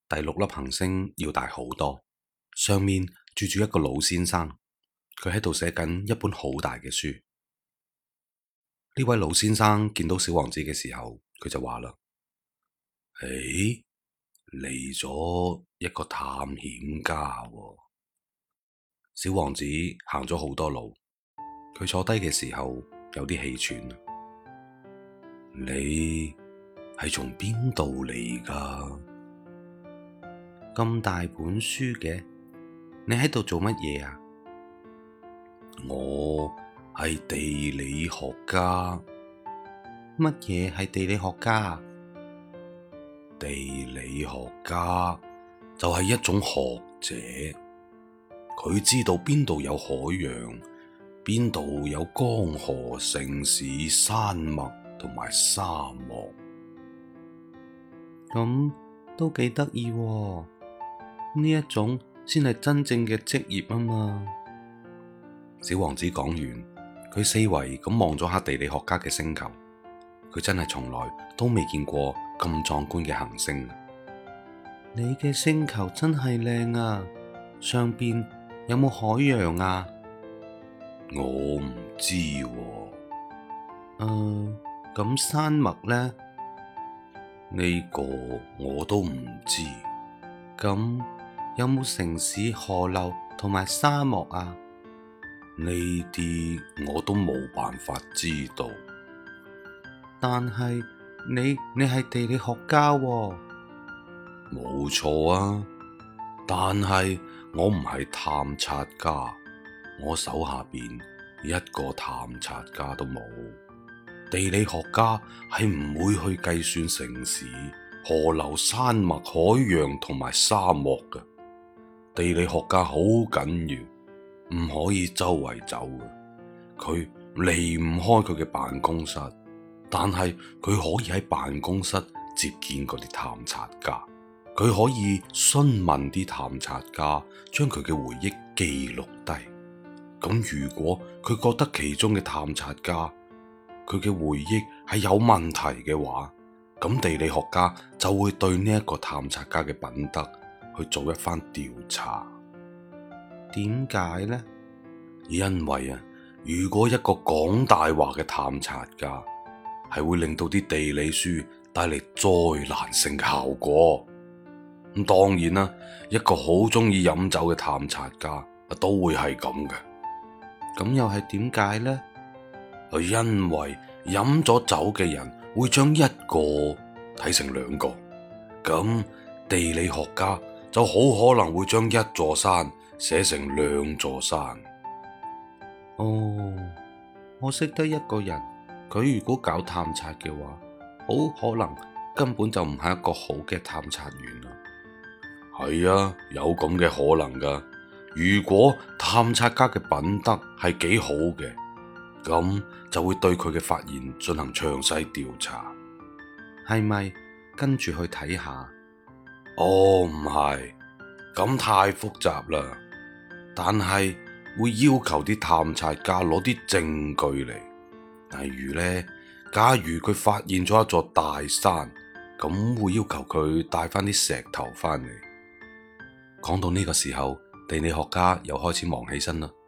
第六粒行星要大好多，上面住住一個老先生，佢喺度寫緊一本好大嘅書。呢位老先生見到小王子嘅時候，佢就話啦：誒，嚟咗一個探險家喎。小王子行咗好多路，佢坐低嘅時候有啲氣喘。你係從邊度嚟㗎？咁大本書嘅，你喺度做乜嘢啊？我係地理學家。乜嘢係地理學家？地理學家就係一種學者，佢知道邊度有海洋，邊度有江河城市、山脈同埋沙漠。咁都幾得意喎，呢一種先係真正嘅職業啊嘛。小王子講完，佢四圍咁望咗下地理學家嘅星球，佢真係從來都未見過咁壯觀嘅行星。你嘅星球真係靚啊，上邊有冇海洋啊？我唔知喎。咁山脈呢？呢個我都唔知。咁有冇城市、河流同埋沙漠啊？呢啲我都冇辦法知道。但係你係地理學家喎。冇錯啊，但係我唔係探察家，我手下邊一個探察家都冇。地理學家係唔會去計算城市、河流、山脈、海洋同埋沙漠嘅。地理學家好緊要，唔可以周圍走嘅。佢離唔開佢嘅辦公室，但係佢可以喺辦公室接見嗰啲探察家。佢可以詢問啲探察家，將佢嘅回憶記錄低。咁如果佢覺得其中嘅探察家佢嘅回憶係有問題嘅話，咁地理學家就會對呢一個探察家嘅品德去做一番調查。點解呢？因為如果一個講大話嘅探察家係會令到啲地理書帶嚟災難性嘅效果。咁當然啦，一個好中意飲酒嘅探察家都會係咁嘅。咁又係點解呢？因為飲咗酒嘅人會將一個睇成兩個，咁地理學家就好可能會將一座山寫成兩座山。哦，我識得一個人，佢如果搞探察嘅話，好可能根本就唔係一個好嘅探察員啦。係啊，有咁嘅可能噶。如果探察家嘅品德係幾好嘅，咁就會對佢嘅發現進行詳細調查。係咪跟住去睇下？哦，唔係，咁太複雜啦。但係會要求啲探察家攞啲證據嚟，例如呢，假如佢發現咗一座大山，咁會要求佢帶翻啲石頭翻嚟。講到呢個時候，地理學家又開始忙起身啦。